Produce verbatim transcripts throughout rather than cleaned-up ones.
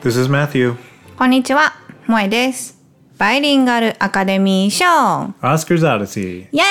This is Matthew. こんにちは、萌です。バイリンガルアカデミー賞 Oscars Odyssey. イエ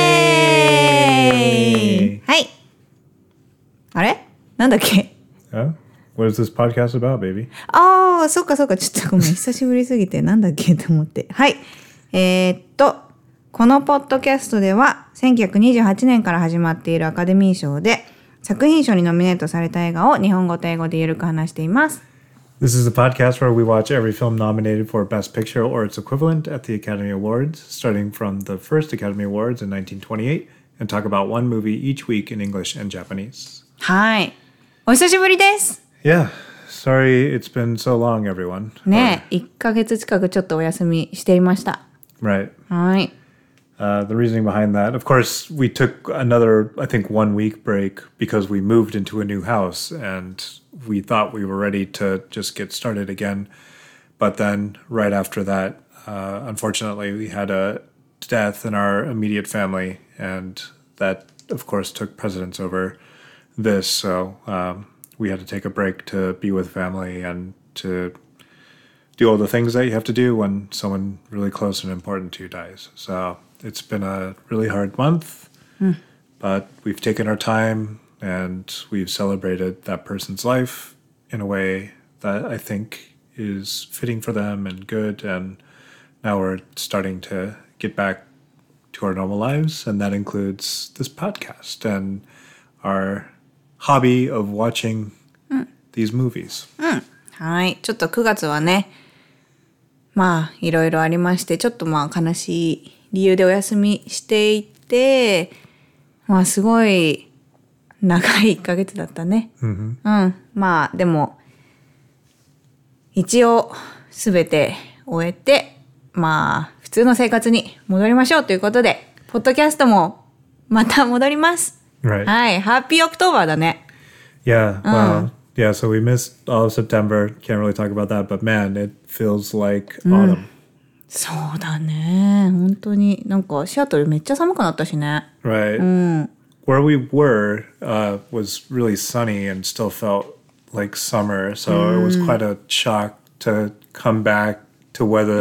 ーイはい。あれなんだっけ Oh? What is this podcast about, baby? ああ、そっかそっか。ちょっとごめん。久しぶりすぎてなんだっけと思って。はい。えー、っと、このポッドキャストではせんきゅうひゃくにじゅうはちねんから始まっているアカデミー賞で作品賞にノミネートされた映画を日本語と英語でゆるく話しています。 This is a podcast where we watch every film nominated for Best Picture or its equivalent at the Academy Awards, starting from the first Academy Awards in nineteen twenty-eight, and talk about one movie each week in English and Japanese. はい。お久しぶりです。 Yeah. Sorry it's been so long, everyone. ねえ、いっかげつ近くちょっとお休みしていました。 Right. はい。 Uh, the reasoning behind that, of course, we took another, I think, one week break because we moved into a new house and we thought we were ready to just get started again. But then right after that, uh, unfortunately, we had a death in our immediate family. And that, of course, took precedence over this. So um, we had to take a break to be with family and to do all the things that you have to do when someone really close and important to you dies. So it's been a really hard month, mm. but we've taken our time and we've celebrated that person's life in a way that I think is fitting for them and good. And now we're starting to get back to our normal lives. And that includes this podcast and our hobby of watching mm. these movies. Mm. はい。ちょっとくがつはね、まあいろいろありまして、ちょっとまあ悲しい理由でお休みしていて、まあすごい長いいっかげつだったね。 Mm-hmm. うん。まあでも一応すべて終えて、まあ普通の生活に戻りましょうということで、ポッドキャストもまた戻ります。 Right. はい。ハッピーオクトーバーだね。 Yeah. Wow. Yeah. So we missed all of September. Can't really talk about that, but man, it feels like autumn.、うんそうだね。本当になんかシアトルめっちゃ寒くなったしね。 Right. うん。 Where we were uh, was really sunny and still felt like summer. So、mm. it was quite a shock to come back to weather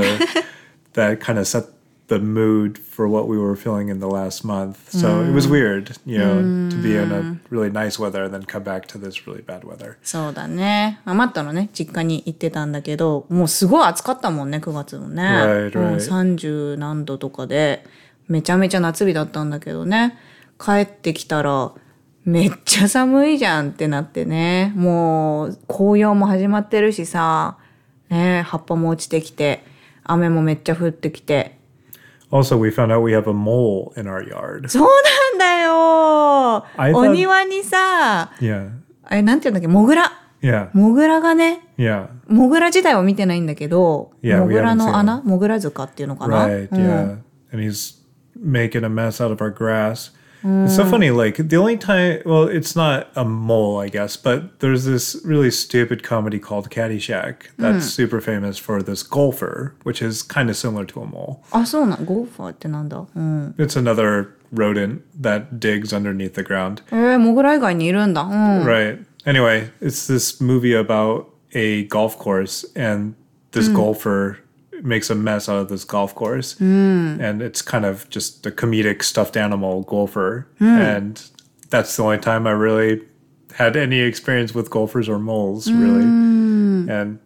that kind of set the mood for what we were feeling in the last month. So、mm. it was weird, you know,、mm. to be in a really nice weather and then come back to this really bad weather. そうだね。マットのね、実家に行ってたんだけど、もうすごい暑かったもんね、くがつもね。 Right, right. もうさんじゅうなんどとかで、めちゃめちゃ夏日だったんだけどね。帰ってきたら、めっちゃ寒いじゃんってなってね。もう紅葉も始まってるしさ、ね、葉っぱも落ちてきて、雨もめっちゃ降ってきて。 Also, we found out we have a mole in our yard. そうなんだよ。お庭にさ、 yeah. あれなんていうんだっけ、モグラ。 Yeah. モグラがね、 yeah. モグラ自体は見てないんだけど、 yeah, モグラの穴、モグラ塚っていうのかな。 Right, yeah. And he's making a mess out of our grass.、Mm. It's so funny, like, the only time, well, it's not a mole, I guess, but there's this really stupid comedy called Caddyshack that's、mm. super famous for this golfer, which is kind of similar to a mole. あ、そうな、ゴルファーってなんだ、うん、 It's another rodent that digs underneath the ground. えー、モグラ以外にいるんだ、うん、 Right. Anyway, it's this movie about a golf course, and this、mm. golfer makes a mess out of this golf course、mm. and it's kind of just a comedic stuffed animal golfer、mm. and that's the only time I really had any experience with golfers or moles really、mm. and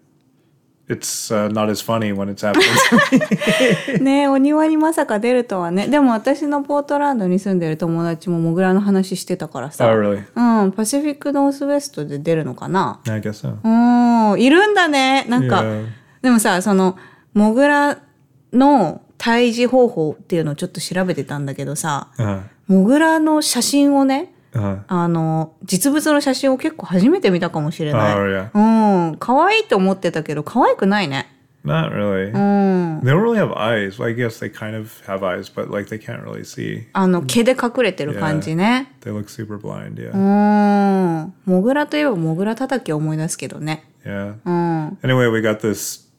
it's、uh, not as funny when it's happening ねえ、お庭にまさか出るとはね。でも私のポートランドに住んでる友達もモグラの話してたからさ、 oh, really? うん、パシフィックノースウェストで出るのかな。 I guess so. うん、いるんだね。なんか、yeah. でもさ、そのモグラの退治方法っていうのをちょっと調べてたんだけどさ、 uh-huh. モグラの写真をね、 uh-huh. あの実物の写真を結構初めて見たかもしれない。 oh, yeah. うん、可愛いと思ってたけど可愛くないね。 Not really. うん。 They don't really have eyes. Well, I guess they kind of have eyes, but like they can't really see. あの毛で隠れてる感じね。 Yeah. They look super blind, yeah. うん。モグラといえばモグラ叩きを思い出すけどね。 Yeah. うん。 Anyway, we got this.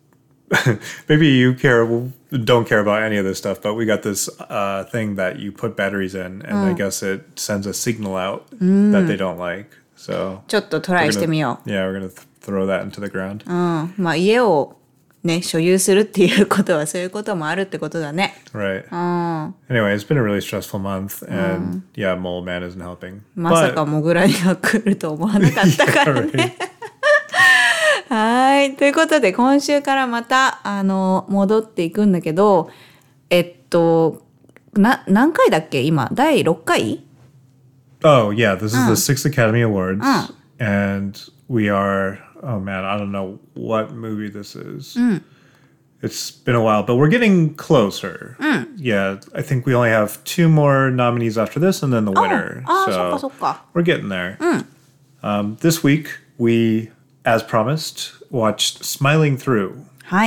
Maybe you care don't care about any of this stuff, but we got this uh, thing that you put batteries in, and、うん、I guess it sends a signal out、うん、that they don't like. So ちょっとトライしてみよ yeah, we're gonna th- throw that into the ground. う。うん。まあ家をね、所有するっていうことはそういうこともあるってことだね。 Right. うん。 Anyway, it's been a really stressful month, and yeah, Mole Man isn't helping. まさか But モグラニが来ると思わなかったから yeah, ね。 right. はい。ということで、今週からまた、あの、戻っていくんだけど、えっと、な、何回だっけ今、だいろっかい Oh yeah, this is the sixth Academy Awards, and we are. Oh man, I don't know what movie this is. It's been a while, but we're getting closer. Yeah, I think we only have two more nominees after this, and then the winner. ああ、そっ So かそっか。 we're getting there. Um, this week we, as promised, watched Smiling Through, はい。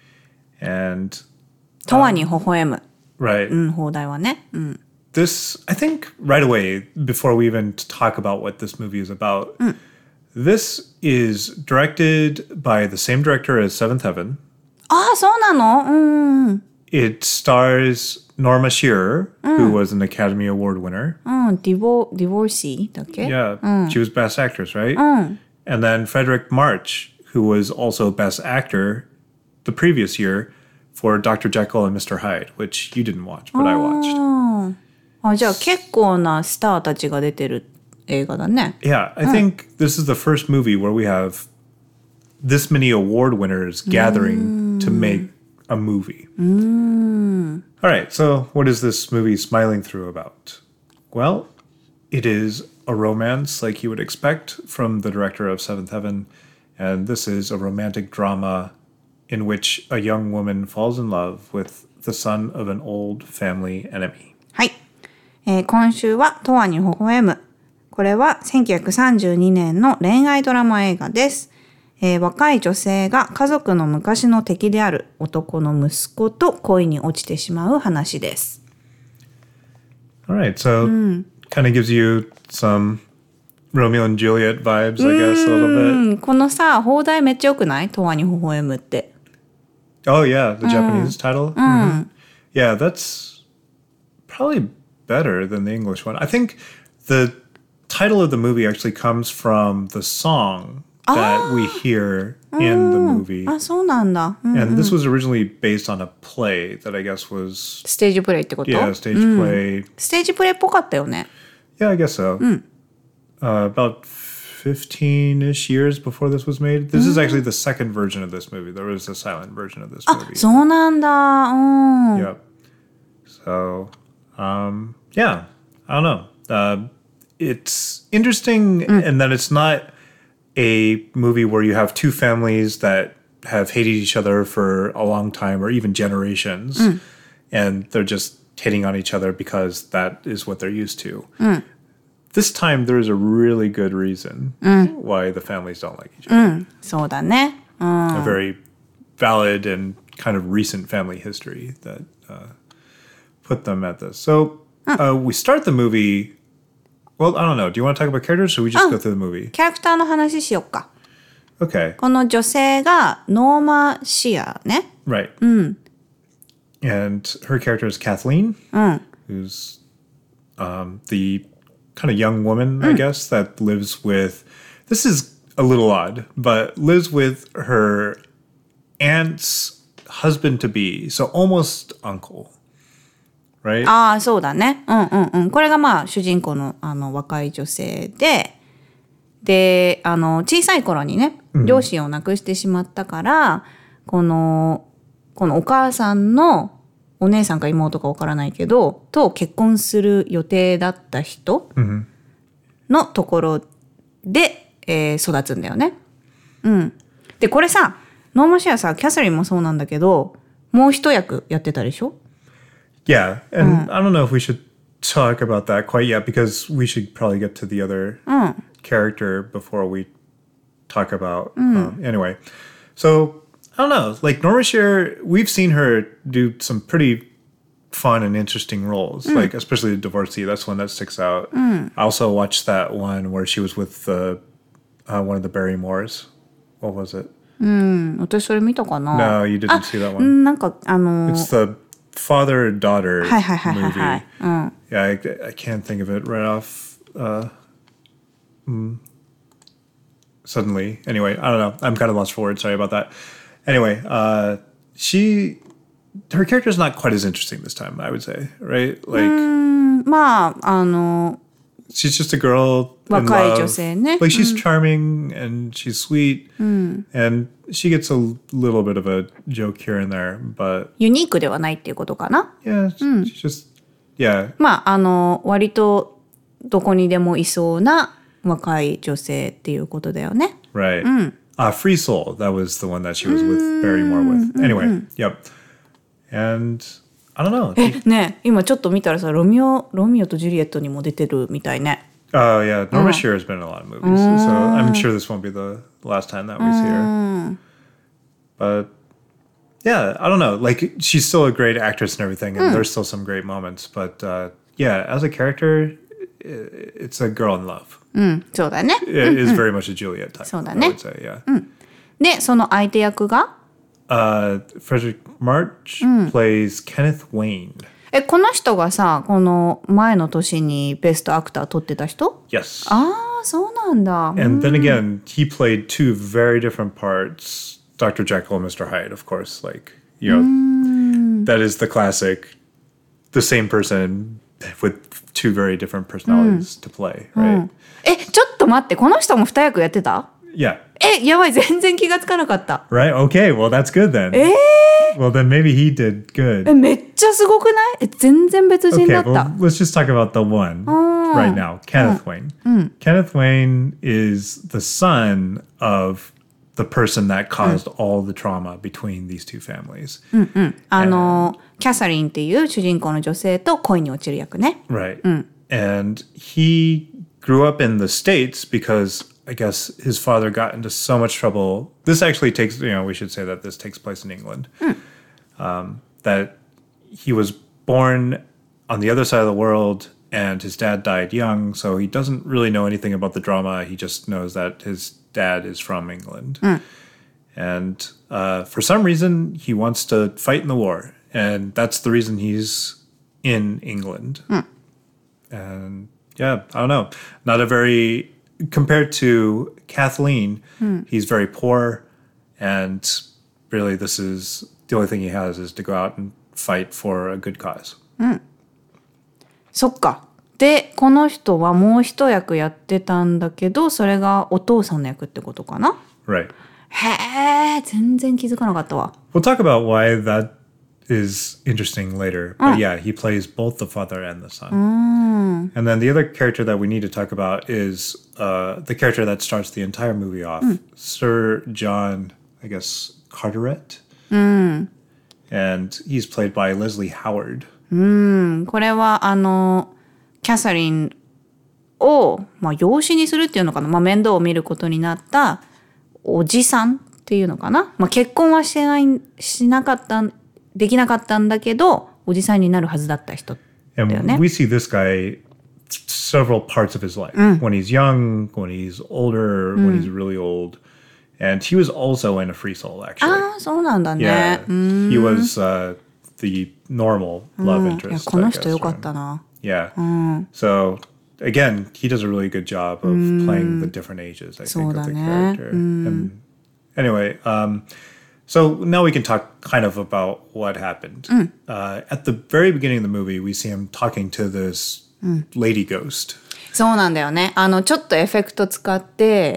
and とわに微笑む。 right. うん、放題はね。うん。 This, I think, right away, before we even talk about what this movie is about, this is directed by the same director as Seventh Heaven. ああ、そうなの？うん。 It stars Norma Shearer, who was an Academy Award winner. うん、ディボ、ディボーシーだっけ？ Yeah, she was Best Actress, right? And then Frederick March, who was also Best Actor the previous year for Doctor Jekyll and Mister Hyde, which you didn't watch, but I watched. あ、じゃあ結構なスターたちが出てる映画だね。 Yeah, I think this is the first movie where we have this many award winners gathering to make a movie. All right, so what is this movie Smiling Through about? Well, it is a romance like you would expect from the director of Seventh Heaven, and this is a romantic drama in which a young woman falls in love with the son of an old family enemy. はい。えー今週はとわに微笑む。これはせんきゅうひゃくさんじゅうにねんの恋愛ドラマ映画です。えー若い女性が家族の昔の敵である男の息子と恋に落ちてしまう話です。 All right, so kind of gives you some Romeo and Juliet vibes, I guess, a little う bit. ん、このさ、放題めっちゃよくない？とわに微笑むって。 Oh, yeah, the Japanese title. Mhm. Yeah, that's probably better than the English one. I think the title of the movie actually comes from the song that we hear in the movie. あ、そうなんだ。うん、 And this was originally based on a play that I guess was, ステージプレイってこと？ yeah, stage play. ステージプレイっぽかったよね。 Yeah, I guess so. Uh, about fifteen-ish years before this was made. This is actually the second version of this movie. There was a silent version of this あ、 movie. そうなんだ。うん。 Yep. So, um, yeah, I don't know. Uh, it's interesting in that it's not a movie where you have two families that have hated each other for a long time or even generations, and they're just hitting on each other because that is what they're used to. This time, there is a really good reason why the families don't like each other. そうだね。うん。 A very valid and kind of recent family history that uh, put them at this. So uh, we start the movie. Well, I don't know. Do you want to talk about characters, or should we just go through the movie? キャラクターの話しよっか。 Okay, この女性がノーマ・シアね。 right. And her character is Kathleen, who's um, the kind of young woman, I guess, that lives with. This is a little odd, but lives with her aunt's husband to be, so almost uncle, right? ああ、そうだね。うんうんうん。これがまあ主人公のあの若い女性で、で、あの小さい頃にね、両親を亡くしてしまったから、この、このお母さんのお姉さんか妹かわからないけど、と結婚する予定だった人のところで、えー育つんだよね。うん。で、これさ、ノーマシアさ、キャサリンもそうなんだけど、もう一役やってたでしょ？ Yeah, and I don't know if we should talk about that quite yet because we should probably get to the other character before we talk about. Um, anyway, so I don't know. Like Norma Shearer, we've seen her do some pretty fun and interesting roles, like especially the divorcee. That's one that sticks out. I also watched that one where she was with the uh, one of the Barrymores. What was it? 私それ見たかな？ No, you didn't see that う one. ん、なんかあの It's the father-daughter はいはいはいはいは movie. い。うん。 Yeah, I, I can't think of it right off uh, suddenly. Anyway, I don't know. I'm kind of lost for words. Sorry about that. Anyway, uh, she, her character is not quite as interesting this time, I would say, right? Like, まああの she's just a girl in 若い love. 女性ね。 Like, she's charming and she's sweet. And she gets a little bit of a joke here and there, but ユニークではないっていうことかな。 yeah, she's just, yeah. まああの割とどこにでもいそうな若い女性っていうことだよね。 Right. Uh, Free Soul, that was the one that she was with Barrymore with. Anyway, yep. And I don't know. えねえ今ちょっと見たらさロミオロミオとジュリエットにも出てるみたいね。 Oh, yeah. Norma Shear has been in a lot of movies. So I'm sure this won't be the last time that we see her. But yeah, I don't know. Like, she's still a great actress and everything, and there's still some great moments. But uh, yeah, as a character, i- it's a girl in love. うんそうだね。 It is very much a Juliet type, そうだ I ね。 would say, yeah. でその相手役が Uh, Frederick March plays Kenneth Wayne. えこの人がさこの前の年にベストアクター取ってた人 Yes. ああそうなんだ。 And then again, he played two very different parts. Doctor Jekyll and Mister Hyde, of course. Like, you know, that is the classic, the same person with two very different personalities to play, right? えちょっと待ってこの人も二役やってた Yeah. えやばい全然気がつかなかった。 Right? Okay, well, that's good then. え Well, then maybe he did え good. めっちゃすごくないえ全然別人 Okay, だった。 well, let's just talk about the one right now, Kenneth Wayne. Kenneth Wayne is the son of the person that caused all the trauma between these two families. あのキャサリンっていう主人公の女性と恋に落ちる役ね。 Right. And he grew up in the States because I guess his father got into so much trouble. This actually takes, you know, we should say that this takes place in England. Um, that he was born on the other side of the world and his dad died young. So he doesn't really know anything about the drama. He just knows that his dad is from England. And uh, for some reason, he wants to fight in the war. And that's the reason he's in England. And yeah, I don't know. Not a very, compared to Kathleen, he's very poor. And really, this is the only thing he has is to go out and fight for a good cause. そっか。でこの人はもう一役やってたんだけどそれがお父さんの役ってことかな。 Right. へえ全然気づかなかったわ。 We'll talk about why that is interesting later. But yeah, he plays both the father and the son. And then the other character that we need to talk about is uh, the character that starts the entire movie off, Sir John, I guess, Carteret. And he's played by Leslie Howard. これはあのキャサリンを、まあ、養子にするっていうのかな、まあ、面倒を見ることになったおじさんっていうのかな、まあ、結婚はしてないしなかったできなかったんだけどおじさんになるはずだった人だよ And ね。 we see this guy several parts of his life. When he's young, when he's older, when he's really old. And he was also in a Free Soul, actually. ああそうなんだ Yeah, ね。うん he was uh, the normal love いや interest. この I 人 guess, よかっ right? たな。 Yeah. So again, he does a really good job of playing the different ages, I think, of the そうだね。 character. And anyway, um, so now we can talk kind of about what happened. Uh, at the very beginning of the movie, we see him talking to this lady ghost. そうなんだよね。あのちょっとエフェクト使って、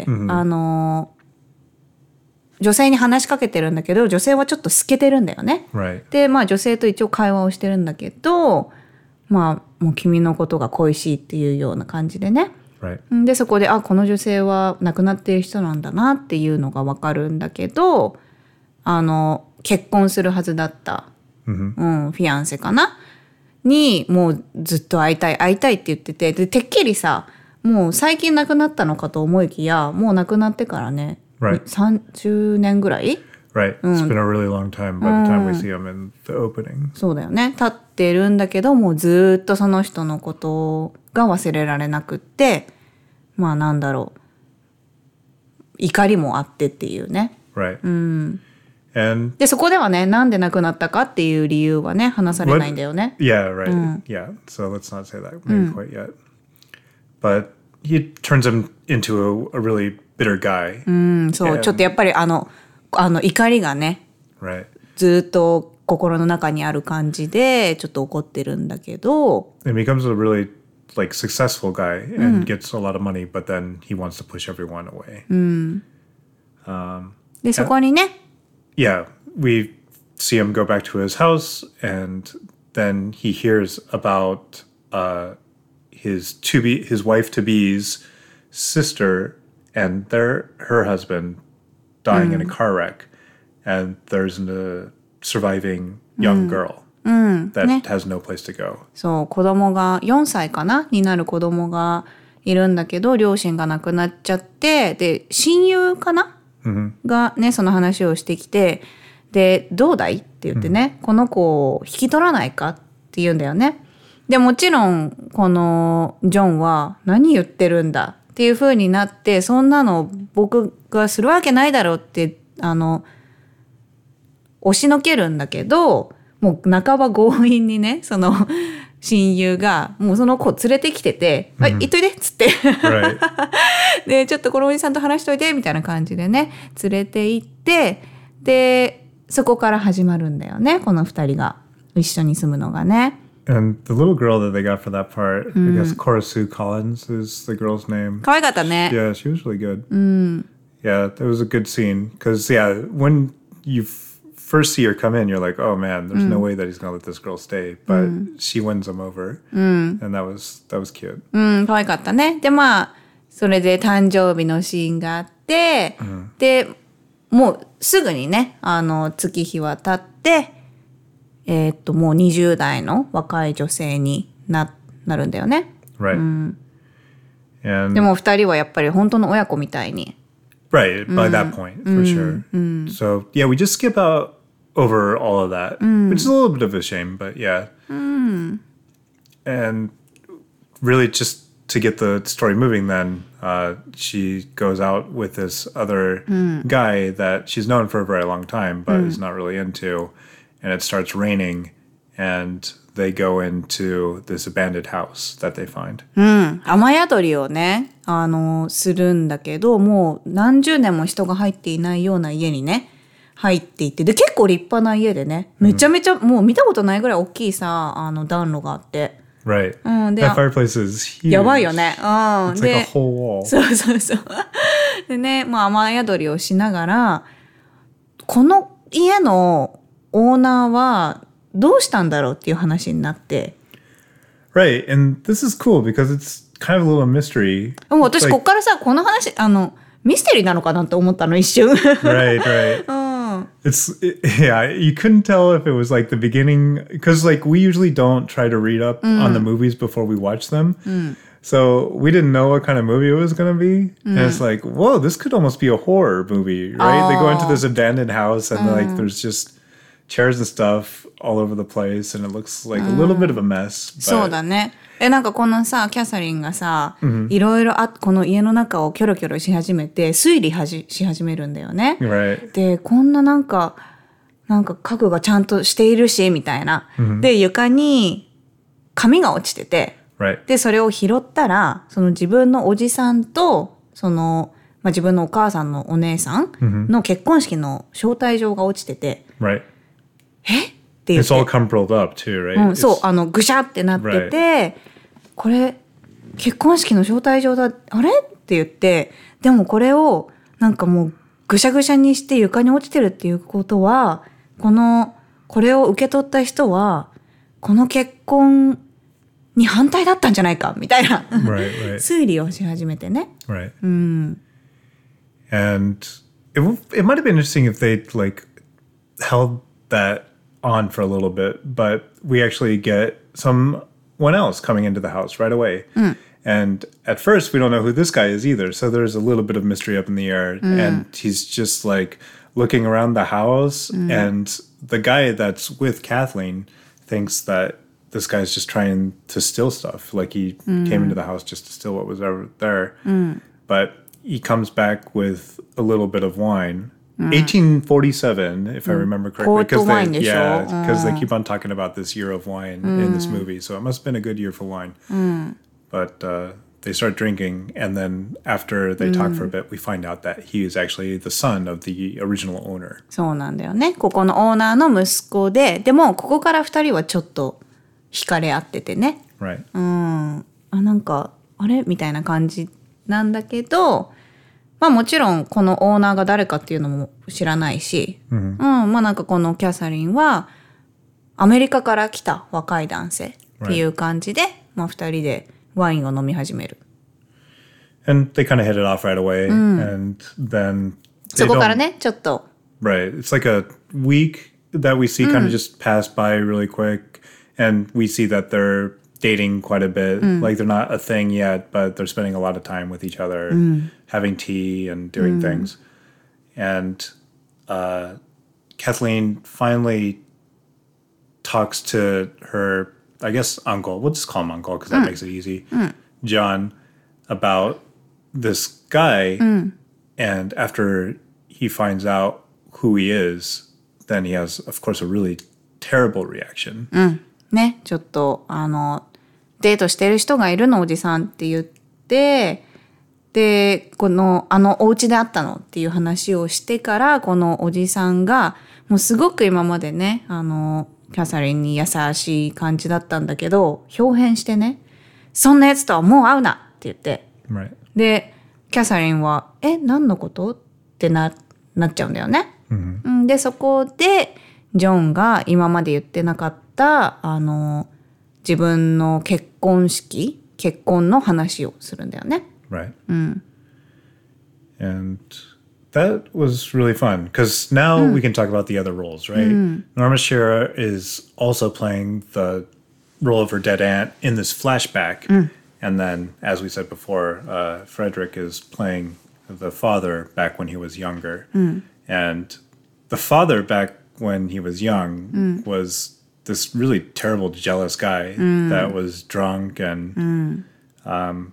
あの女性に話しかけてるんだけど女性はちょっと透けてるんだよね。 Right. でまあ女性と一応会話をしてるんだけどまあもう君のことが恋しいっていうような感じでね。 Right. でそこであこの女性は亡くなっている人なんだなっていうのが分かるんだけどあの結婚するはずだった、うん、フィアンセかなにもうずっと会いたい会いたいって言っててでてっきりさもう最近亡くなったのかと思いきやもう亡くなってからね、 Right. さんじゅうねんぐらい Right. It's been a really long time by the time we see him in the opening. そうだよね経ってるんだけどもうずっとその人のことが忘れられなくってまあなんだろう怒りもあってっていうね。 Right. And でそこではねなんで亡くなったかっていう理由はね話されないんだよね。 yeah, right. Yeah. So let's not say that maybe quite yet. But he turns him into a, a really bitter guy. うん、そう、 And- ちょっとやっぱりあの、あの怒りがね、 Right. ずっと心の中にある感じで、ちょっと怒ってるんだけど、 And becomes a really like successful guy and gets a lot of money, but then he wants to push everyone away. で、そこにね、 Yeah, we see him go back to his house, and then he hears about uh, his to be his wife to be's sister and their her husband dying in a car wreck, and there's a surviving young girl that has no place to go. そう子供がよんさいかなになる子供がいるんだけど、両親が亡くなっちゃって、で親友かな、がねその話をしてきて、でどうだいって言ってね、この子を引き取らないかって言うんだよね。でもちろんこのジョンは何言ってるんだっていう風になって、そんなの僕がするわけないだろうってあの押しのけるんだけど、もう半ば強引にねその親友がもうその子を連れてきてて「はい行っといで」っつって Right. でちょっとこのおじさんと話しといてみたいな感じでね連れて行って、でそこから始まるんだよね、この二人が一緒に住むのがね。 And the little girl that they got for that part, I guess Cora Sue Collins is the girl's name. 可愛かったね。 Yeah, she was really good. Yeah, it was a good scene. Because, yeah, when you f- first see her come in, you're like, oh man, there's no way that he's going to let this girl stay. But she wins him over. And that was that was cute. うん可愛かったね。でまあそれで誕生日のシーンがあって、でもうすぐにねあの月日は経って、えーっともうにじゅう代の若い女性に な, なるんだよね。 Right. And でも二人はやっぱり本当の親子みたいに。 right, by that point, for sure. So, yeah, we just skip out over all of that, which is a little bit of a shame, but yeah. And really just to get the story moving then, uh, she goes out with this other guy that she's known for a very long time, but is not really into. And it starts raining, and they go into this abandoned house that they find. 雨宿りをねあのするんだけど、もう何十年も人が入っていないような家にね入っていって、で結構立派な家でね、めちゃめちゃ、もう見たことないぐらい大きいさあの暖炉があって、 Right. うん、で That fireplace is huge. やばいよね。うん、 It's で like a whole wall. そうそうそうでね、まあ、雨宿りをしながら、この家のオーナーはどうしたんだろうっていう話になって、 Right, and this is cool because it's kind of a little mystery. もう私 It's こ like- っからさこの話あのミステリーなのかなって思ったの一瞬。 right, right. It's it, yeah, you couldn't tell if it was like the beginning because like we usually don't try to read up on the movies before we watch them. So we didn't know what kind of movie it was going to be. And it's like, whoa, this could almost be a horror movie, right? They go into this abandoned house and like there's just chairs and stuff all over the place and it looks like a little bit of a mess. But そうだね。えなんかこのさキャサリンがさ、いろいろあこの家の中をキョロキョロし始めて推理はじし始めるんだよね。 Right. でこんななんかなんか家具がちゃんとしているしみたいな。で床に紙が落ちてて、 Right. でそれを拾ったらその自分のおじさんとその、まあ、自分のお母さんのお姉さんの結婚式の招待状が落ちてて、 Right. えって言っ It's て all crumpled up too, right? うん、そう It's- あのぐしゃってなってて、これ結婚式の招待状だあれって言って、でもこれをなんかもうぐしゃぐしゃにして床に落ちてるっていうことは、このこれを受け取った人はこの結婚に反対だったんじゃないかみたいな Right, right. 推理をし始めてね。 Right. And it w- it might have been interesting if they like held that on for a little bit, but we actually get someone else coming into the house right away. And at first we don't know who this guy is either. So there's a little bit of mystery up in the air. And he's just like looking around the house. And the guy that's with Kathleen thinks that this guy's just trying to steal stuff. Like he came into the house just to steal what was ever there. But he comes back with a little bit of wine. eighteen forty-seven, if I remember correctly. Port wine they, でしょ? yeah, because they keep on talking about this year of wine in this movie. So it must have been a good year for wine. But uh, they start drinking, and then after they talk for a bit, we find out that he is actually the son of the original owner. そうなんだよね。ここのオーナーの息子で、でもここから二人はちょっと惹かれ合っててね。 Right. うん。あ、なんか、あれみたいな感じなんだけど、まあもちろんこのオーナーが誰かっていうのも知らないし、うん、まあなんかこのキャサリンはアメリカから来た若い男性っていう感じで、right. まあ二人でワインを飲み始める。 And they kind of hit it off right away, うん、and then そこからね、ちょっと。 Right. It's like a week that we see kind of just pass by really quick, and we see that they're dating quite a bit. Mm. Like they're not a thing yet, but they're spending a lot of time with each other, mm. having tea and doing mm. things. And uh, Kathleen finally talks to her, I guess, uncle. We'll just call him uncle because that mm. makes it easy. Mm. John, about this guy. Mm. And after he finds out who he is, then he has, of course, a really terrible reaction. Mm. ね、ちょっとあのデートしてる人がいるのおじさんって言って、でこのあのお家で会ったのっていう話をしてから、このおじさんがもうすごく今までね、あのキャサリンに優しい感じだったんだけど、表変してね、そんなやつとはもう会うなって言って、 right. でキャサリンはえ何のことってななっちゃうんだよね。Mm-hmm. でそこでジョンが今まで言ってなかったあの自分の結婚式結婚の話をするんだよね。 Right. うん。 And that was really fun because now mm. we can talk about the other roles, right? Mm. Norma Shearer is also playing the role of her dead aunt in this flashback. Mm. And then, as we said before, uh, Frederick is playing the father back when he was younger. Mm. And the father back when he was young mm. was this really terrible, jealous guy mm. that was drunk and mm. um,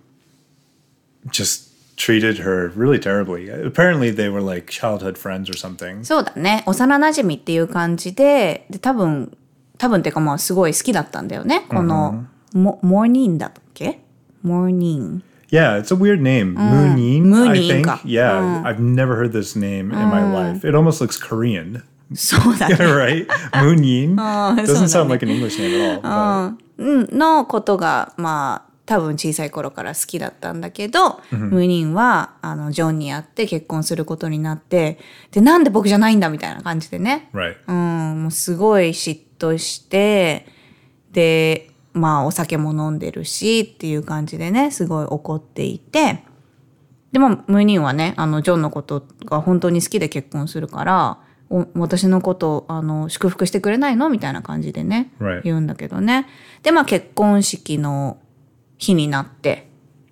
just treated her really terribly. Apparently they were like childhood friends or something. そうだね。幼馴染っていう感じで、で多分多分っていうかまあすごい好きだったんだよね。この、mm-hmm. モモーニンだっけ？モーニン。 Yeah, it's a weird name. Mm. Moonin, I think. Yeah, mm. I've never heard this name in mm. my life. It almost looks Korean. そうだね。 Right? Moonin. Doesn't sound like an English name at all. うん、のことがまあ多分小さい頃から好きだったんだけど、mm-hmm. ムーニンはあのジョンに会って結婚することになって、でなんで僕じゃないんだみたいな感じでね。 Right. うん、もうすごい嫉妬して、でまあお酒も飲んでるしっていう感じでね、すごい怒っていて、でもムーニンはね、あのジョンのことが本当に好きで結婚するから、お私のことあの祝福してくれないのみたいな感じでね、 right. 言うんだけどね。でまあ結婚式の日になって。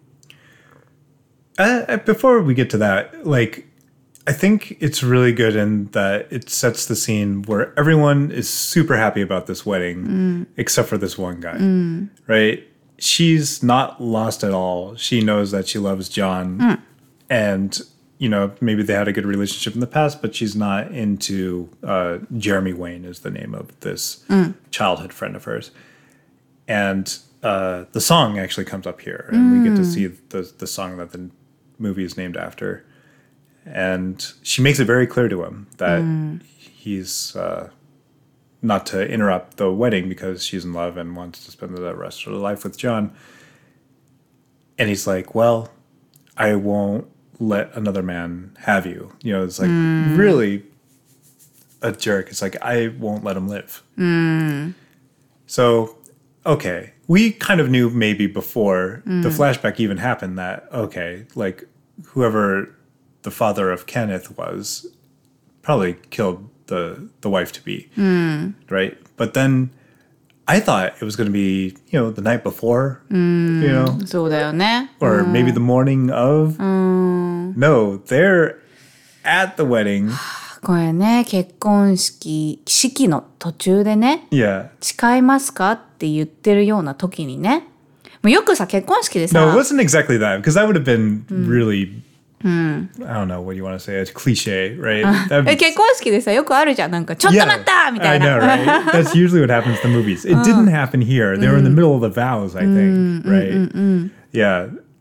Uh, before we get to that, like I think it's really good in that it sets the scene where everyone is super happy about this wedding, mm. except for this one guy, mm. right? She's not lost at all. She knows that she loves John, mm. and you know maybe they had a good relationship in the past, but she's not into uh, Jeremy Wayne is the name of this mm. childhood friend of hers, and uh, the song actually comes up here, and mm. we get to see the the song that the movie is named after. And she makes it very clear to him that mm. he's uh, not to interrupt the wedding because she's in love and wants to spend the rest of her life with John. And he's like, well, I won't let another man have you. You know, it's like mm. really a jerk. It's like, I won't let him live. Mm. So, okay. We kind of knew maybe before mm. the flashback even happened that, okay, like whoever the father of Kenneth was probably killed the the wife-to-be, mm. right? But then I thought it was going to be, you know, the night before, mm. you know? そうだよね。 Or mm. maybe the morning of. Mm. No, they're at the wedding. これね、結婚式、式の途中でね、 yeah. 誓いますかって言ってるような時にね、もうよくさ、結婚式でさ。 No, it wasn't exactly that, because that would have been mm. really...Hmm. I don't know what you want to say. It's cliche, right? Be... 結婚式でさよくあるじゃんなんかちょっと待ったみたいな。 I know, right? That's usually what happens in the movies. It didn't happen here. They were in the middle of the vows, I think, right? Yeah.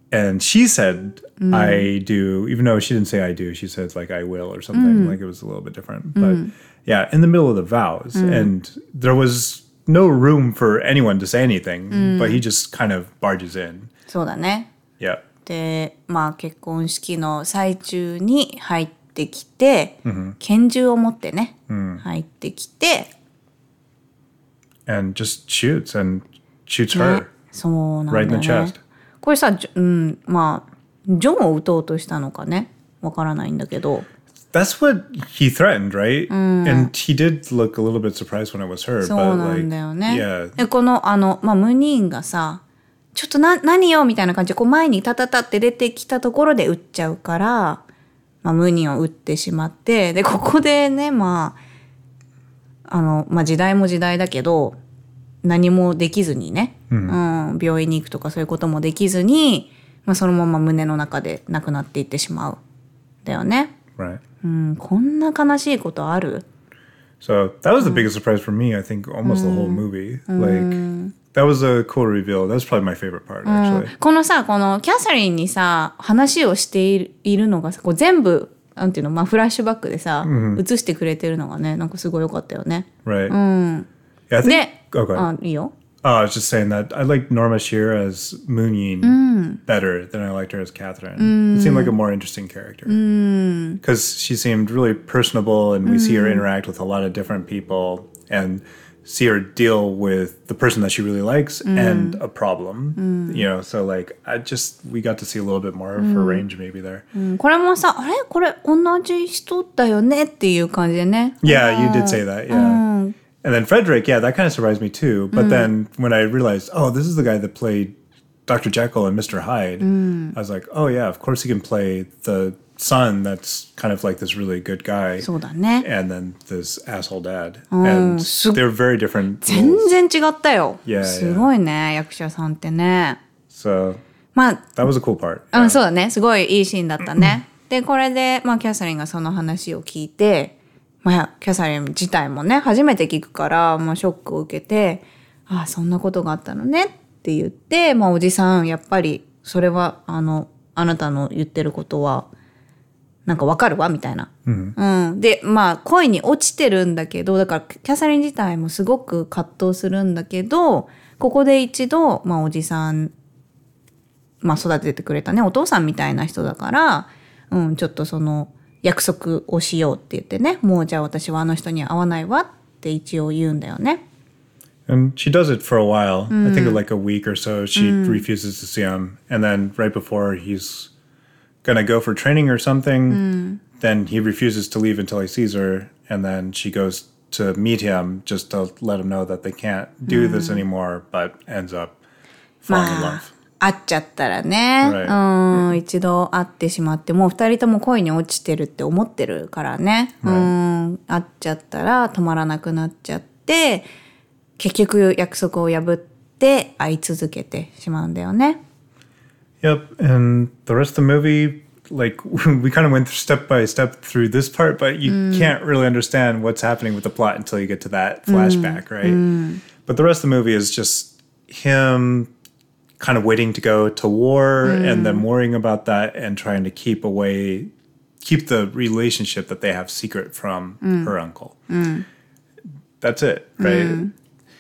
And she said, I do, even though she didn't say I do, she said like I will or something, like it was a little bit different. But yeah, in the middle of the vows. And there was no room for anyone to say anything, but he just kind of barges in. そうだね。 Yeah. で、まあ結婚式の最中に入ってきて、拳銃を持ってね、入ってきて、 And just shoots and shoots her ね、そうなんだ right よ in ね。 the chest. これさ、じょうん、まあジョンを撃とうとしたのかね、わからないんだけど。 That's what he threatened, right? And he did look a little bit surprised when it was her. そう but なん like, だよね。 yeah. でこのあの、まあ、ムニーンがさ、ちょっとな何よみたいな感じでこう前にタタタって出てきたところで撃っちゃうから、まあ、ムニーンを撃ってしまって、でここでね、まああの、まあ、時代も時代だけど何もできずにね、うんうん、病院に行くとかそういうこともできずに、まあ、そのまま胸の中で亡くなっていってしまうだよね。 Right. うん、こんな悲しいことある？ So that was the biggest surprise for me, I think, almost the whole movie. Like, that was a cool reveal. That was probably my favorite part, actually. このさ、このキャサリンにさ、話をしている、いるのがさ、こう全部、なんていうの、まあフラッシュバックでさ、映してくれてるのがね、なんかすごい良かったよね。 Right. Yeah, I think, で、 oh, go ahead. あ、いいよ。 Oh, I was just saying that I liked Norma Shearer as Moon Yin better than I liked her as Catherine. It seemed like a more interesting character. Because she seemed really personable, and we see her interact with a lot of different people and see her deal with the person that she really likes and a problem. You know, so like, I just, we got to see a little bit more of her range maybe there. うん、これもさ、あれこれ同じ人だよねっていう感じでね。 Yeah, you did say that, yeah. And then Frederick, yeah, that kind of surprised me too. But then when I realized, oh, this is the guy that played Doctor Jekyll and Mister Hyde, I was like, oh yeah, of course he can play the son that's kind of like this really good guy. そうだね。 And then this asshole dad. And they're very different 全 roles. 然違ったよ。 Yeah, すごいね、役者さんってね。 So まあ、 that was a cool part. うん、そうだね。すごいいいシーンだったね。で、これで、まあ、キャサリンがその話を聞いて、まあ、キャサリン自体もね、初めて聞くから、まあ、ショックを受けて、ああ、そんなことがあったのねって言って、まあ、おじさん、やっぱり、それは、あの、あなたの言ってることは、なんかわかるわ、みたいな。うんうん。で、まあ、恋に落ちてるんだけど、だから、キャサリン自体もすごく葛藤するんだけど、ここで一度、まあ、おじさん、まあ、育ててくれたね、お父さんみたいな人だから、うん、ちょっとその、約束をしようって言ってね、もうじゃあ私はあの人には会わないわって一応言うんだよね。 And she does it for a while. I think like a week or so, she refuses to see him. And then right before he's going to go for training or something, then he refuses to leave until he sees her. And then she goes to meet him just to let him know that they can't do this anymore, but ends up falling in love. 会っちゃったらね、 Right. うん、一度会ってしまってもう二人とも恋に落ちてるって思ってるからね、うん、会っちゃったら止まらなくなっちゃって結局約束を破って会い続けてしまうんだよね。 Yep, and the rest of the movie, like we kind of went step by step through this part, but you can't really understand what's happening with the plot until you get to that flashback, right? But the rest of the movie is just him kind of waiting to go to war and then worrying about that and trying to keep away, keep the relationship that they have secret from her uncle. That's it, right?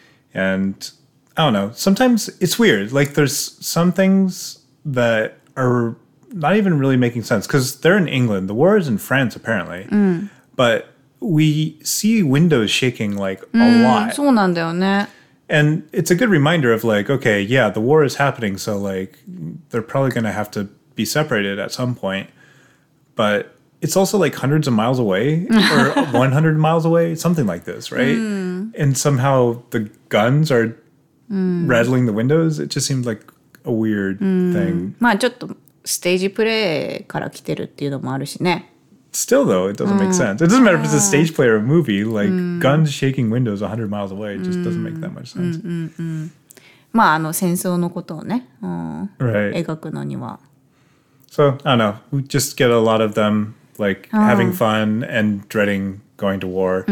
And I don't know, sometimes it's weird. Like there's some things that are not even really making sense because they're in England. The war is in France, apparently. But we see windows shaking like a lot. そうなんだよね。 And it's a good reminder of like, okay, yeah, the war is happening. So like, they're probably going to have to be separated at some point. But it's also like hundreds of miles away or one hundred miles away, something like this, right? And somehow the guns are rattling the windows. It just seemed like a weird thing. まあちょっとステージプレイから来てるっていうのもあるしね。 Still, though, it doesn't make sense. It doesn't matter if it's a stage play or a movie. Like, guns shaking windows one hundred miles away just doesn't make that much sense. まああの戦争のことをね、うん、 Right. 描くのには。 So, I don't know. We just get a lot of them, like, having fun and dreading going to war.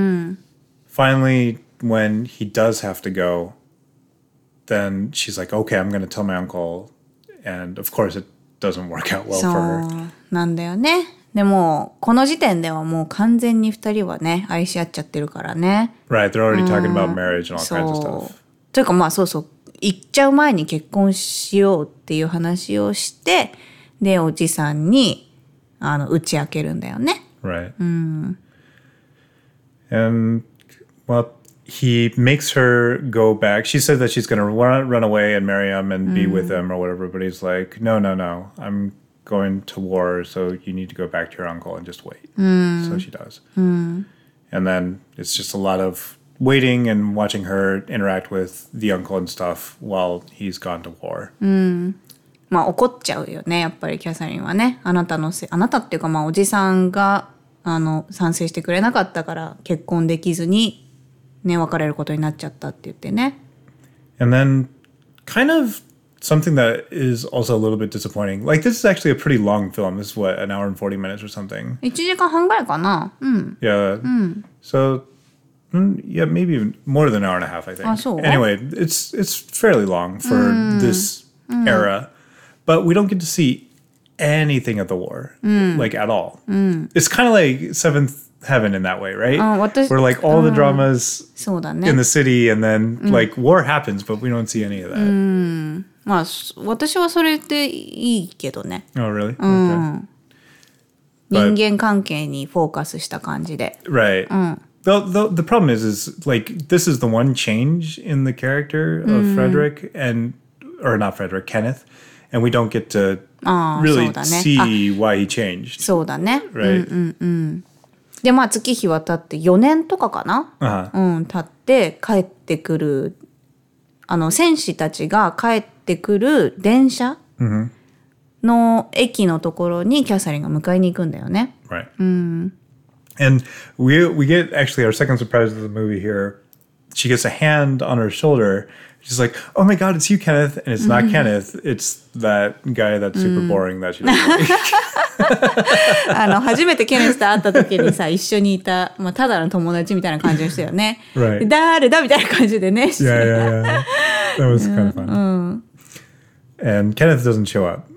Finally, when he does have to go, then she's like, okay, I'm going to tell my uncle. And of course, it doesn't work out well そ for her. うなんだよね。でもこの時点ではもう完全に二人はね愛し合っちゃってるからね。 Right, they're already talking about marriage and all kinds of そう stuff. というかまあそうそう行っちゃう前に結婚しようっていう話をしてでおじさんにあの打ち明けるんだよね。 Right. And, well, he makes her go back. She said that she's going to run, run away and marry him and be with him or whatever. But he's like, no, no, no. I'm going to war, so you need to go back to your uncle and just wait. So she does. And then it's just a lot of waiting and watching her interact with the uncle and stuff while he's gone to war. まあ怒っちゃうよねやっぱりキャサリンはね。あなたのせいあなたっていうかまあおじさんがあの賛成してくれなかったから結婚できずにね別れることになっちゃったって言ってね。 And then kind of something that is also a little bit disappointing. Like, this is actually a pretty long film. This is what, an hour and forty minutes or something. いちじかんはんぐらいかな。うん。 Yeah. So, mm, yeah, maybe even more than an hour and a half, I think. Ah, so? Anyway, it's it's fairly long for this era. But we don't get to see anything of the war, like, at all. It's kind of like Seventh Heaven in that way, right? あ、私 Where, like, all the dramas そうだね。 in the city, and then, like, war happens, but we don't see any of that. まあそ私はそれでいいけどね。 Oh, really? Okay. 人間関係にフォーカスした感じで。 Right. The, the the problem is is like this is the one change in the character of Frederick and or not Frederick, Kenneth, and we don't get to ああ、 really そうだね。 see why he changed. そうだね。 Right. でまあ月日は経ってよねんとかかな。 Uh-huh. うん経って帰ってくるあの戦士たちが帰ってくる電車の駅のところにキャサリンが迎えに行くんだよね。 Right. And we we get actually our second surprise of the movie here. She gets a hand on her shoulder. She's like, "Oh my God, it's you, Kenneth!" And it's not Kenneth. It's that guy that's super boring that she doesn't like. あの初めてケネスと会った時にさ一緒にいた、まあ、ただの友達みたいな感じでしたよね。 Right. で誰だみたいな感じでね。 Yeah, yeah, yeah. That was kind of fun. And Kenneth doesn't show up.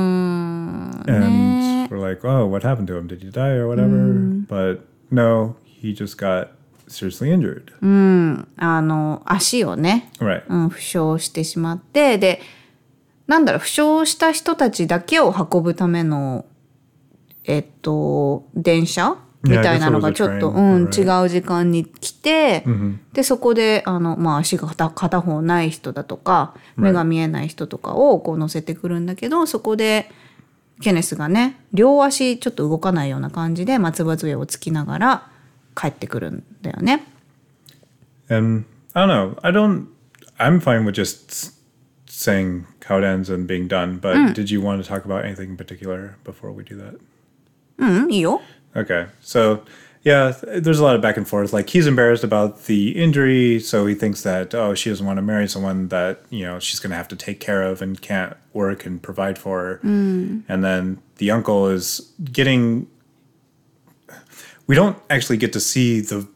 And we're like, oh, what happened to him? Did he die or whatever? But no, he just got seriously injured. あの足をね、 Right. うん、負傷してしまってでなんだろう負傷した人たちだけを運ぶためのえっと電車みたいなのがちょっと、 Yeah, I guess it was a train. うん、 Right. 違う時間に来て、 でそこであの、まあ、足が片片方ない人だとか目が見えない人とかをこう乗せてくるんだけどそこでケネスがね両足ちょっと動かないような感じで松葉杖をつきながら帰ってくるんだよね。 And I don't know. I don't. I'm fine with just s- saying how it ends and being done. But did you want to talk about anything in particular before we do that? うんいいよ。 Okay. So, yeah, th- there's a lot of back and forth. Like, he's embarrassed about the injury, so he thinks that, oh, she doesn't want to marry someone that, you know, she's going to have to take care of and can't work and provide for her. And then the uncle is getting... We don't actually get to see the...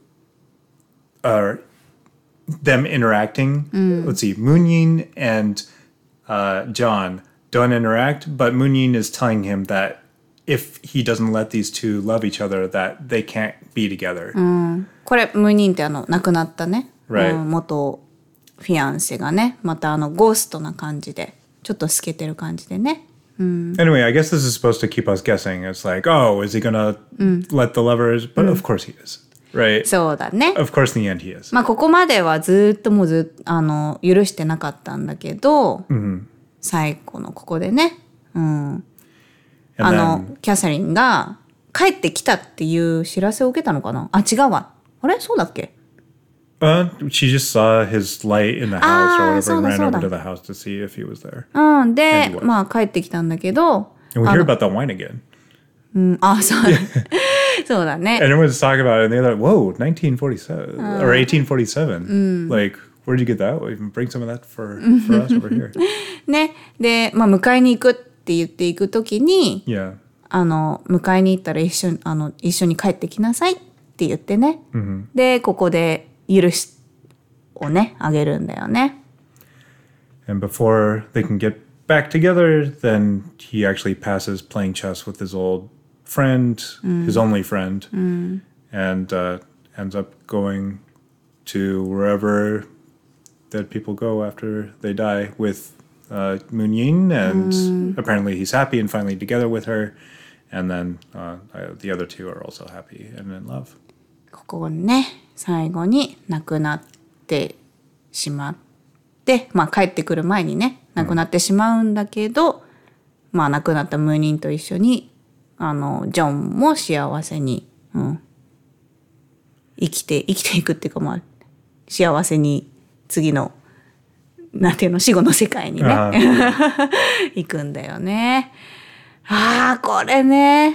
Uh, them interacting. Let's see. Moon-Yin and uh, John don't interact, but Moon-Yin is telling him that if he doesn't let these two love each other, that they can't be together. これムーニンってあの亡くなったね、 Right. うん元フィアンセがねまたあのゴーストな感じでちょっと透けてる感じでね。 Anyway, I guess this is supposed to keep us guessing. It's like, oh, is he gonna let the lovers? But of course he is, right? そうだね。 Of course, in the end, he is. まあここまではずっともうずっとあの許してなかったんだけど、最後のここでね、うん、あ And の then, キャサリンが帰ってきたっていう知らせを受けたのかな。あ違うわ。あれそうだっけ。 uh, she just saw his light in the house Ah, or whatever, そうだ、 and ran そう over だ。 to the house to see if he was there. うんで And he was. まあ帰ってきたんだけど、 And we あ hear の about the wine again. うんあそうだそうだね。 And everyone's talking about it, and they're like, whoa, nineteen forty-seven or eighteen forty-seven. Like, where'd you get that? Well, even bring some of that for, for us over here. ねでまあ迎えに行くって言っていくときに。 Yeah. あの迎えに行ったら一緒にあの一緒に帰ってきなさいって言ってね、でここで許しをねあげるんだよね。 And before they can get back together, then he actually passes playing chess with his old friend, mm. his only friend, mm. and uh, ends up going to wherever that people go after they die with uh, Moon Yin, and mm. apparently he's happy and finally together with her, and then uh, the other two are also happy and in love. ここね、最後に亡くなってしまって、まあ帰ってくる前にね、亡くなってしまうんだけど、うん、まあ亡くなったムーニンと一緒に、あのジョンも幸せに、うん、生きて生きていくっていうか、まあ幸せに次のなんていうの死後の世界にね行くんだよね。ああこれね。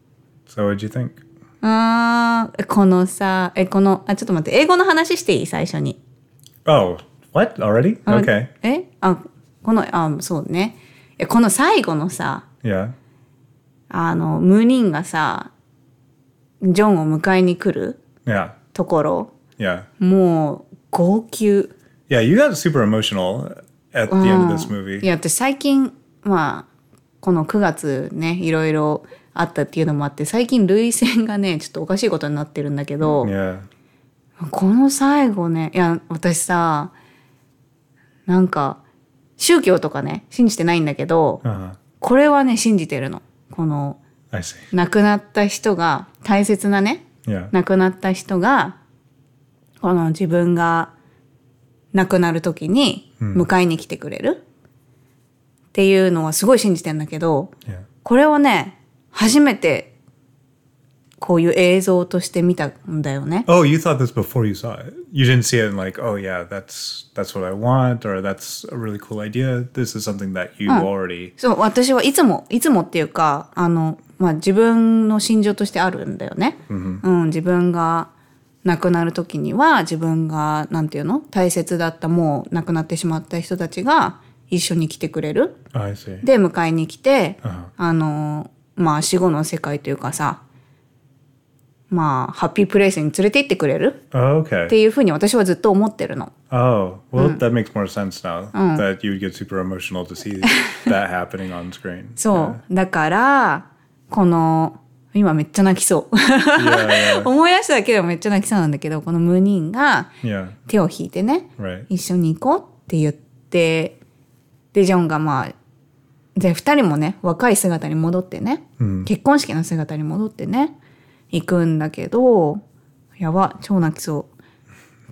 So what did you think? ああこのさえこのあちょっと待って英語の話していい最初に。 Oh what already? Okay. えあこのあそうねえこの最後のさ。 Yeah. あのムーニンがさジョンを迎えに来る Yeah. ところ。 Yeah. もう号泣。 Yeah, you got super emotional at the end of this movie. いや私最近まあこのくがつねいろいろあったっていうのもあって最近涙腺がねちょっとおかしいことになってるんだけど、 yeah. この最後ねいや私さなんか宗教とかね信じてないんだけど、uh-huh. これはね信じてるの。この亡くなった人が大切なね、 yeah. 亡くなった人がこの自分が亡くなる時に迎えに来てくれるっていうのはすごい信じてんだけど、 yeah. これをね初めてこういう映像として見たんだよね。 Oh, you thought this before you saw it. You didn't see it and like, oh yeah, that's that's what I want, or that's a really cool idea. This is something that you already. そう、私はいつもいつもっていうか、あのまあ自分の心情としてあるんだよね。 Mm-hmm. うん、自分が亡くなる時には自分がなんていうの大切だったもう亡くなってしまった人たちが一緒に来てくれる。 Oh, I see. で迎えに来て、 uh-huh. あのまあ死後の世界というかさ。まあハッピープレイスに連れて行ってくれる、 oh, okay. っていうふうに私はずっと思ってるの。 Oh, well, mm. that makes more sense now、うん、that you would get super emotional to see that happening on screen. そう、yeah. だからこの今めっちゃ泣きそう。 yeah, yeah. 思い出しただけでもめっちゃ泣きそうなんだけど、このムーニンが手を引いてね、 yeah. 一緒に行こうって言って、でジョンがまあで二人もね若い姿に戻ってね、 mm. 結婚式の姿に戻ってね。行くんだけどやば超泣きそう。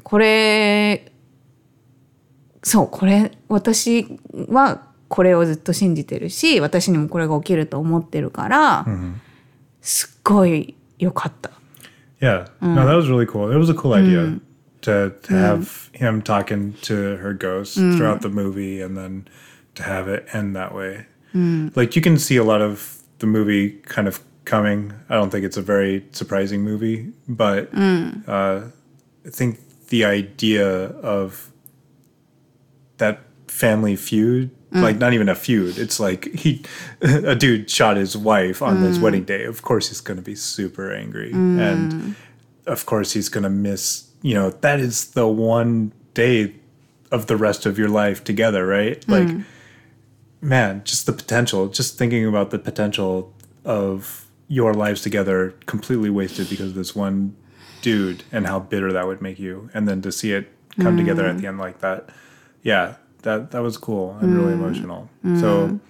これそうこれ私はこれをずっと信じてるし私にもこれが起きると思ってるから、 mm-hmm. すっごい良かった。 Yeah、うん、no that was really cool. It was a cool idea、うん、to, to have、うん、him talking to her ghost、うん、throughout the movie and then to have it end that way、うん、like you can see a lot of the movie kind of coming. I don't think it's a very surprising movie, but mm. uh, I think the idea of that family feud, mm. like not even a feud, it's like he, a dude shot his wife on mm. his wedding day. Of course he's going to be super angry. Mm. And of course he's going to miss, you know, that is the one day of the rest of your life together, right? Mm. Like, man, just the potential, just thinking about the potential of your lives together completely wasted because of this one dude and how bitter that would make you. And then to see it come mm. together at the end like that. Yeah, that, that was cool and mm. really emotional. Mm. So,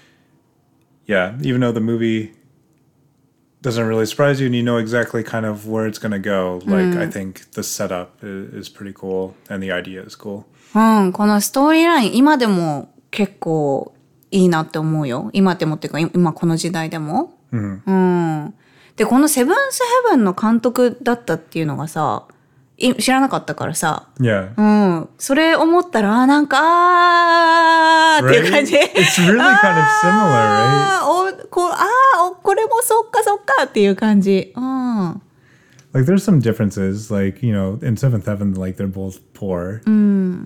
yeah, even though the movie doesn't really surprise you and you know exactly kind of where it's going to go, like, mm. I think the setup is, is pretty cool and the idea is cool. うん、このストーリーライン、今でも結構いいなって思うよ。今でもっていうか、今この時代でも。 うんうん、でこのセブンスヘブンの監督だったっていうのがさ知らなかったからさ、 yeah. うん、それ思ったらあなんかあーっていう感じ、 right? It's really kind of similar, right? おこあーこれもそっかそっかっていう感じ、うん、 like there's some differences like you know in Seventh Heaven like they're both poor、 うん、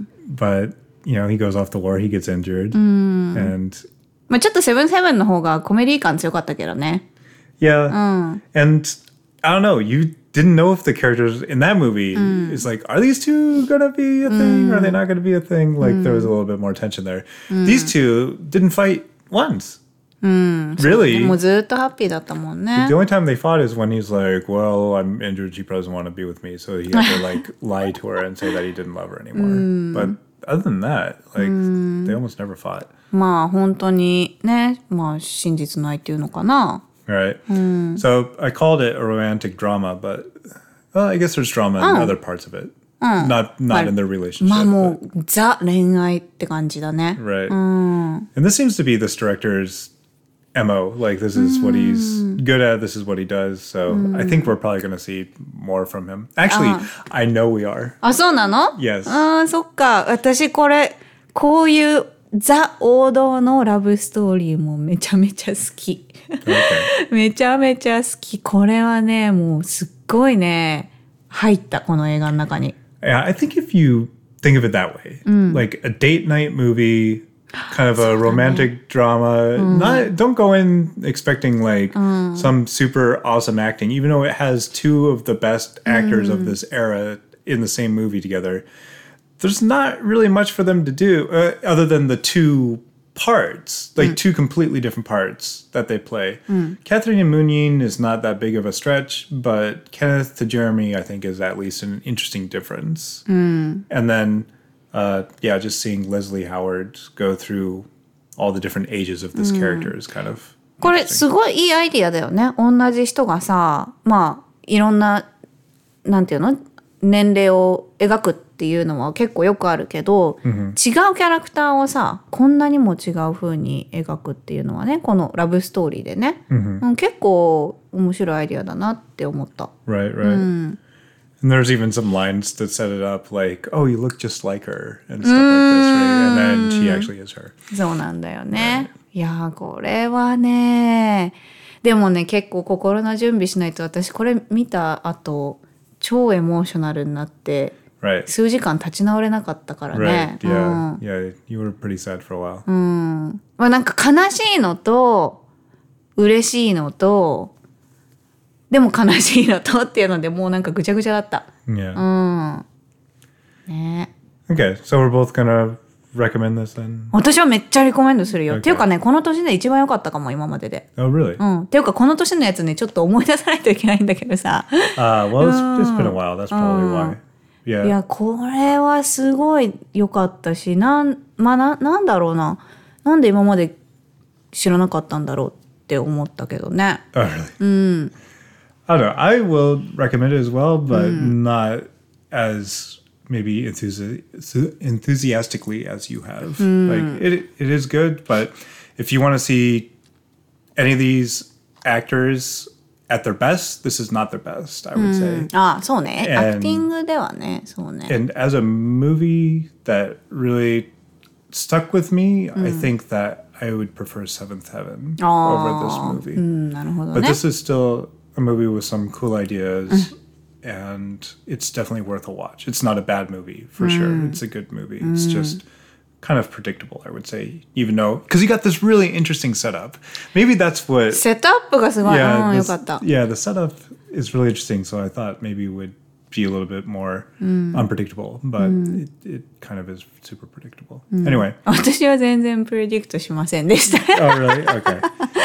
but you know he goes off to war he gets injured、 うん、 and まあちょっとセブンセブンの方がコメディ感強かったけどね。 Yeah. うん。 And I don't know, you didn't know if the characters in that movie is like, are these two gonna be a thing? Are they not gonna be a thing? Like there was a little bit more tension there. These two didn't fight once. Really? もうずっとハッピーだったもんね。 The only time they fought is when he's like, well, I'm injured, she doesn't want to be with me. So he had to like lie to her and say that he didn't love her anymore. But other than that, like they almost never fought. まあ本当にね、まあ真実の愛っていうのかな。 Right. So I called it a romantic drama, but well, I guess there's drama in other parts of it. Not not in their relationship. まあもうザ恋愛って感じだね。 Right. And this seems to be this director's M O. Like this is what he's good at. This is what he does. So I think we're probably going to see more from him. Actually, I know we are. あ、そうなの？ Yes. ああ、そっか。私これ、こういうザ王道のラブストーリーもめちゃめちゃ好き。 Okay. めちゃめちゃ好き。これはね、もうすっごいね、入ったこの映画の中に。 Yeah, I think if you think of it that way, like a date night movie, kind of a romantic drama, not don't go in expecting like some super awesome acting, even though it has two of the best actors of this era in the same movie together. There's not really much for them to do uh, other than the two parts, like two completely different parts that they play. Catherine and Moonyin is not that big of a stretch, but Kenneth to Jeremy, I think, is at least an interesting difference. And then, uh, yeah, just seeing Leslie Howard go through all the different ages of this character is kind of これすごいいいアイディアだよね。同じ人がさ、まあいろんななんていうの年齢を描くっていうのは結構よくあるけど、違うキャラクターをさこんなにも違う風に描くっていうのはねこのラブストーリーでね、うん結構面白いアイディアだなって思った。 Right, right. And there's even some lines that set it up like, oh, you look just like her and stuff like this, right? And then she actually is her. そうなんだよね。いやーこれはねでもね結構心の準備しないと私これ見た後超エモーショナルになって Right. 数時間立ち直れなかったからね。 Right, yeah, yeah. You were pretty sad for a while. うんまあ、なんか悲しいのと嬉しいのとでも悲しいのとっていうのでもうなんかぐちゃぐちゃだった。 Yeah. うんね Okay, so we're both gonna recommend this then? 私はめっちゃリコメンドするよ。 Okay. っていうかねこの年で一番良かったかも今までで。 Oh, really? うんっていうかこの年のやつねちょっと思い出さないといけないんだけどさ。 Uh, well, it's, it's been a while. That's probably why. い Yeah. やこれはすごい良かったしなんまあななんだろうななんで今まで知らなかったんだろうって思ったけどね。 Oh, really? I don't know. I will recommend it as well, but not as maybe enthusi- enthusiastically as you have. Like it, it is good, but if you want to see any of these actors at their best, this is not their best, I would say. ああそうね And- アクティングではねそうね。 And as a movie that really stuck with me, I think that I would prefer Seventh Heaven over this movie. うんなるほど But ね。 this is still a movie with some cool ideas, and it's definitely worth a watch. It's not a bad movie, for sure. It's a good movie. It's just kind of predictable, I would say, even though, because you got this really interesting setup. Maybe that's what... セットアップがすごい、 Yeah, うん、よ this- かった。 yeah, the setup is really interesting, so I thought maybe it would be a little bit more unpredictable, but it, it kind of is super predictable. Anyway. 私は全然プレディクトしませんでした。 Oh, really? Okay.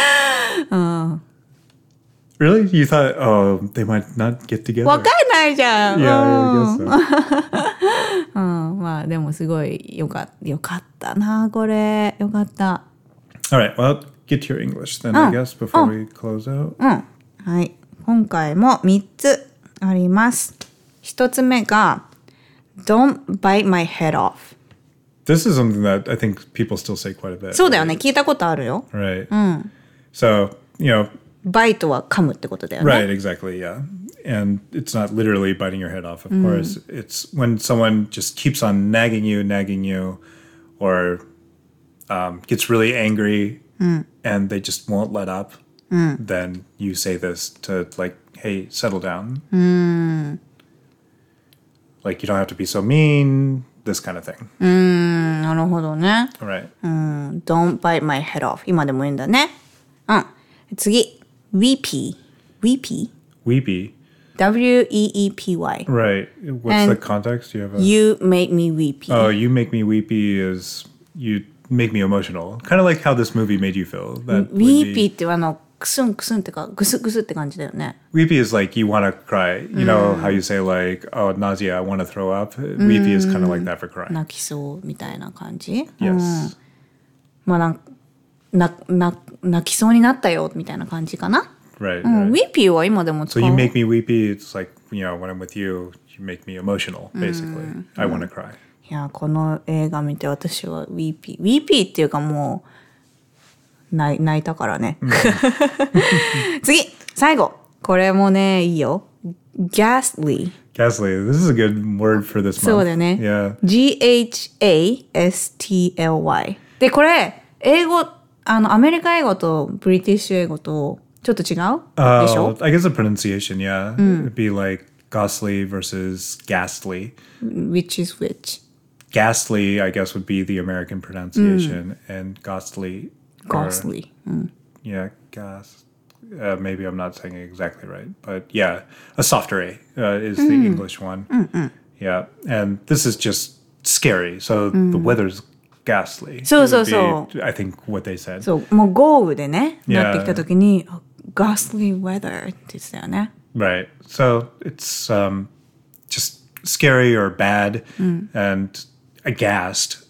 Really? You thought, oh, they might not get together? わかんないじゃん。 Yeah, I guess so. うん、まあでもすごいよかよかったなこれよかった。 All right, well, get to your English then, I guess, before we close out. うんはい今回もみっつあります。ひとつめが Don't bite my head off。 This is something that I think people still say quite a bit. そうだよね聞いたことあるよ。 Right. So, you know, バイトは噛むってことだよね。 right, exactly, yeah. And it's not literally biting your head off, of course. It's when someone just keeps on nagging you, nagging you, or um, gets really angry and they just won't let up, then you say this to, like, hey, settle down. Like, you don't have to be so mean, this kind of thing. うんなるほどね。 All right. うん Don't bite my head off 今でもいいんだね。うん次 Weepy Weepy Weepy. W E E P Y. Right. What's And the context? Do you have a... You make me weepy. Oh, you make me weepy is you make me emotional. Kind of like how this movie made you feel. That would weepy be, ってあのクスンクスンってかグスグスって感じだよね。 weepy is like you want to cry. You know how you say like, oh, nausea, I want to throw up? Weepy is kind of like that for crying. 泣きそうみたいな感じ。 Yes. まあなんなな泣きそうになったよみたいな感じかな。 Right. うん、 right. weepy は今でも使 So う。 you make me weepy. It's like, you know, when I'm with you, you make me emotional, basically. I want to cry. いやこの映画見て私は weepy weepy っていうかもう泣い泣いたからね。次最後これもねいいよ。ghastly Ghastly. This is a good word for this month. そうだよね。 Yeah. G H A S T L Y でこれ英語あのアメリカ英語とブリティッシュ英語とちょっと違う、 Uh, でしょ I guess the pronunciation, yeah. It'd be like ghastly versus ghastly. Which is which? Ghastly, I guess, would be the American pronunciation, and ghastly. or- Ghastly、うん、 Yeah, ghast. Uh, maybe I'm not saying it exactly right, but yeah, a softer A uh, is the English one. Yeah, and this is just scary. So the weather's ghastly. So, It so, would be, so. I think what they said. そうもう豪雨でね Yeah. なってきた時に ghastly weather って言ってたよね。 Right. So it's um, just scary or bad, and aghast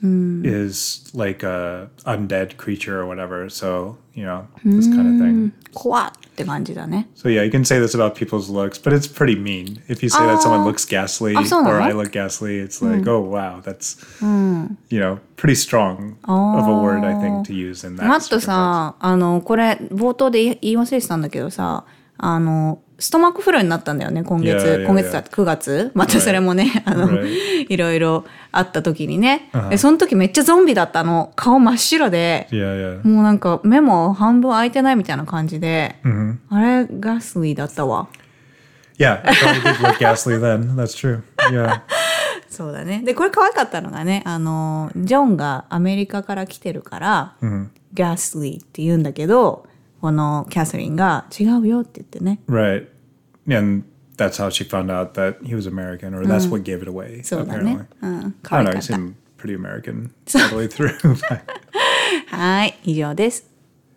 is like a undead creature or whatever. So you know this kind of thing. 怖って感じだね。 So yeah, you can say this about people's looks, but it's pretty mean. If you say that someone looks ghastly Ah, so or no? I look ghastly, it's like, oh wow, that's you know pretty strong of a word I think to use in that. マット circumstance. さあのこれ冒頭で言い言い忘れてたんだけどさあのストマックフルになったんだよね今月、 Yeah, yeah, 今月だくがつまたそれもね、あの Right. いろいろあった時にね、でその時めっちゃゾンビだったの顔真っ白で Yeah, yeah. もうなんか目も半分開いてないみたいな感じで、あれガスリーだったわ。 Yeah, it probably did look ghastly then. That's true. Yeah. そうだね。でこれ可愛かったのがねあのジョンがアメリカから来てるから、ガスリーって言うんだけどこのキャサリンが違うよって言ってね。 Right. And that's how she found out that he was American, or that's what gave it away, そうだ apparently. ね。うん、 I 可 don't 愛 know, か he った。 seemed pretty American all the way through. はい以上です。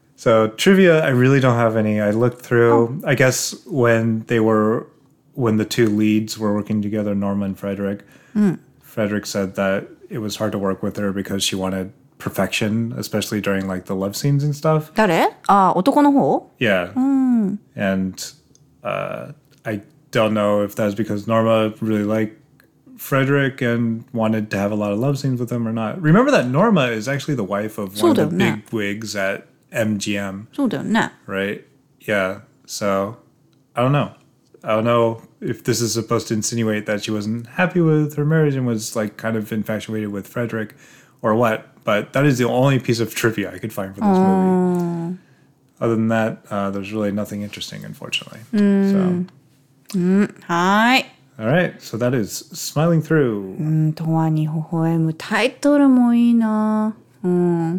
So trivia, I really don't have any. I looked through, I guess when they were, when the two leads were working together, Norma and Frederick, Frederick said that it was hard to work with her because she wanted perfection, especially during like the love scenes and stuff. 誰？あ男の方？ Yeah. And uh, I don't know if that's because Norma really liked Frederick and wanted to have a lot of love scenes with him or not. Remember that Norma is actually the wife of one of the そうだよね。 big wigs at M G M, そうだよね。 right? Yeah. So I don't know. I don't know if this is supposed to insinuate that she wasn't happy with her marriage and was like kind of infatuated with Frederick or what. But that is the only piece of trivia I could find for this movie. Other than that, uh, there's really nothing interesting, unfortunately. So, はーい。 all right. So that is Smiling Through. うんとわに微笑むタイトルもいいな。うん。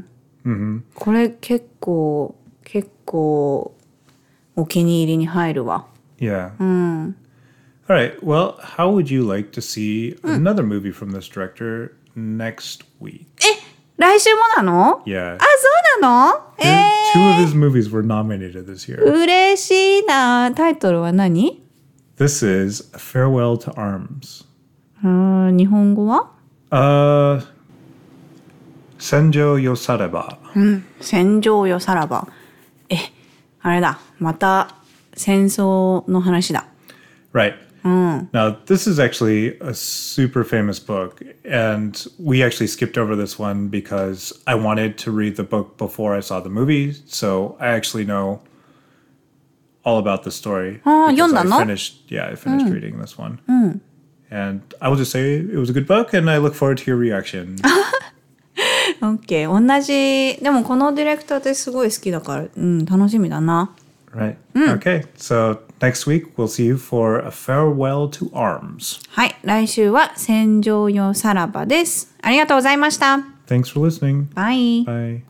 これ結構結構お気に入りに入るわ。 Yeah. All right. Well, how would you like to see another movie from this director next week? え、来週もなの？ Yeah. あ、そうなの？え Two of his movies were nominated this year. ー、嬉しいな。タイトルは何？ This is Farewell to Arms. あー、日本語は？ Uh, Senjo Yosareba. 戦場よさらば。え、あれだ。また戦争の話だ。 Right. Now, this is actually a super famous book, and we actually skipped over this one because I wanted to read the book before I saw the movie, so I actually know all about the story. Ah, because 読んだの? I finished, yeah, I finished reading this one. And I will just say it was a good book, and I look forward to your reaction. オッケー。同じ。でもこのディレクターってすごい好きだから、うん、楽しみだな。 Right. Okay, so next week we'll see you for A Farewell to Arms. はい。来週は戦場よさらばです。ありがとうございました。 Thanks for listening. バイ。 Bye.